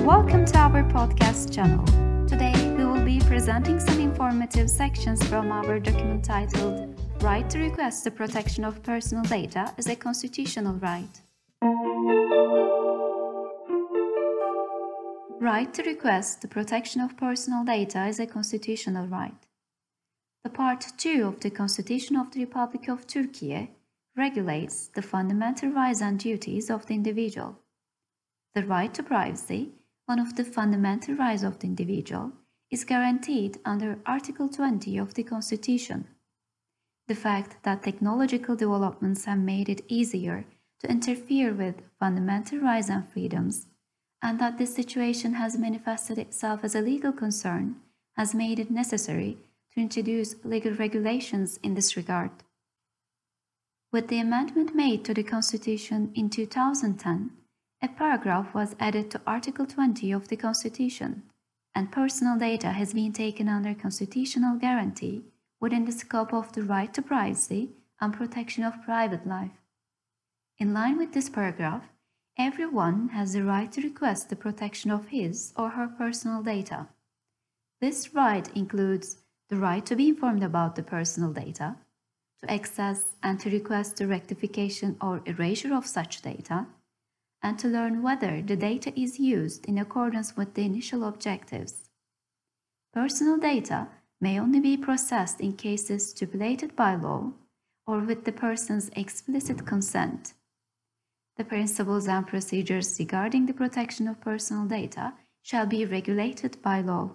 Welcome to our podcast channel. Today we will be presenting some informative sections from our document titled Right to Request the Protection of Personal Data as a Constitutional Right. Right to request the protection of personal data is a constitutional right. The Part 2 of the Constitution of the Republic of Turkey regulates the fundamental rights and duties of the individual. The right to privacy, one of the fundamental rights of the individual, is guaranteed under Article 20 of the Constitution. The fact that technological developments have made it easier to interfere with fundamental rights and freedoms, and that this situation has manifested itself as a legal concern, has made it necessary to introduce legal regulations in this regard. With the amendment made to the Constitution in 2010, a paragraph was added to Article 20 of the Constitution, and personal data has been taken under constitutional guarantee within the scope of the right to privacy and protection of private life. In line with this paragraph, everyone has the right to request the protection of his or her personal data. This right includes the right to be informed about the personal data, to access and to request the rectification or erasure of such data, and to learn whether the data is used in accordance with the initial objectives. Personal data may only be processed in cases stipulated by law or with the person's explicit consent. The principles and procedures regarding the protection of personal data shall be regulated by law.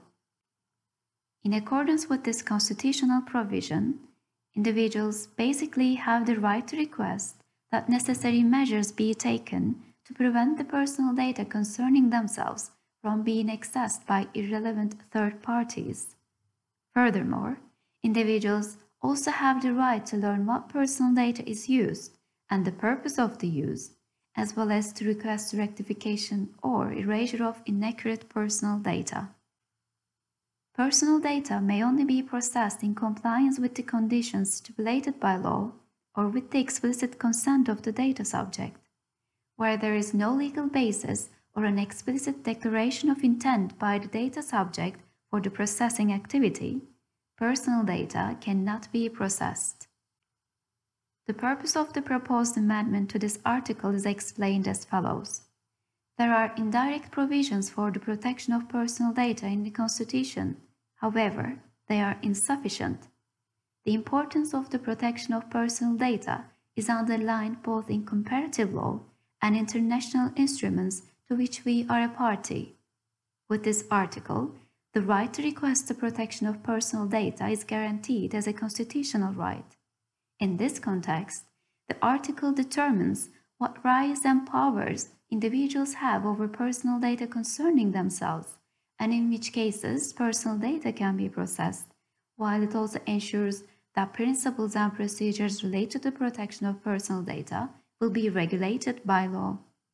In accordance with this constitutional provision, individuals basically have the right to request that necessary measures be taken to prevent the personal data concerning themselves from being accessed by irrelevant third parties. Furthermore, individuals also have the right to learn what personal data is used and the purpose of the use, as well as to request rectification or erasure of inaccurate personal data. Personal data may only be processed in compliance with the conditions stipulated by law or with the explicit consent of the data subject. Where there is no legal basis or an explicit declaration of intent by the data subject for the processing activity, personal data cannot be processed. The purpose of the proposed amendment to this article is explained as follows. There are indirect provisions for the protection of personal data in the Constitution. However, they are insufficient. The importance of the protection of personal data is underlined both in comparative law and international instruments to which we are a party. With this article, the right to request the protection of personal data is guaranteed as a constitutional right. In this context, the article determines what rights and powers individuals have over personal data concerning themselves, and in which cases personal data can be processed, while it also ensures that principles and procedures related to the protection of personal data will be regulated by law.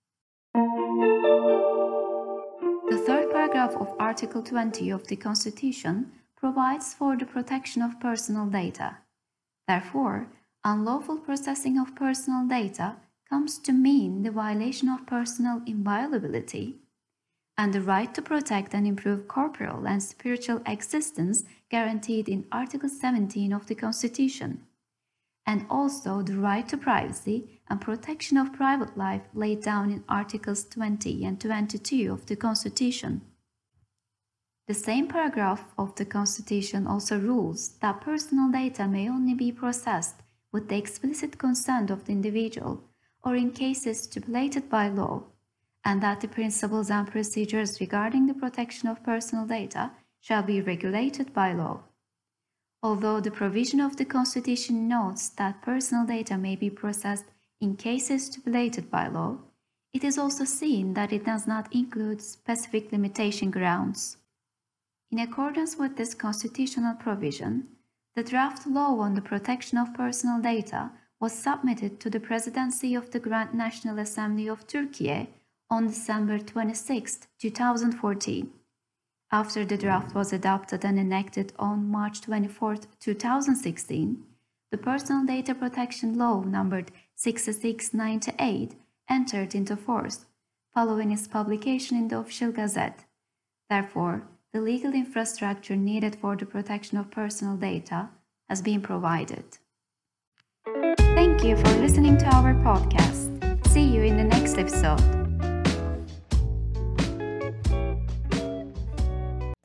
The third paragraph of Article 20 of the Constitution provides for the protection of personal data. Therefore, unlawful processing of personal data comes to mean the violation of personal inviolability and the right to protect and improve corporal and spiritual existence guaranteed in Article 17 of the Constitution, and also the right to privacy and protection of private life laid down in Articles 20 and 22 of the Constitution. The same paragraph of the Constitution also rules that personal data may only be processed with the explicit consent of the individual or in cases stipulated by law, and that the principles and procedures regarding the protection of personal data shall be regulated by law. Although the provision of the Constitution notes that personal data may be processed in cases stipulated by law, it is also seen that it does not include specific limitation grounds. In accordance with this constitutional provision, the draft law on the protection of personal data was submitted to the Presidency of the Grand National Assembly of Turkey on December 26, 2014. After the draft was adopted and enacted on March 24, 2016, the Personal Data Protection Law numbered 6698 entered into force, following its publication in the Official Gazette. Therefore, the legal infrastructure needed for the protection of personal data has been provided. Thank you for listening to our podcast. See you in the next episode.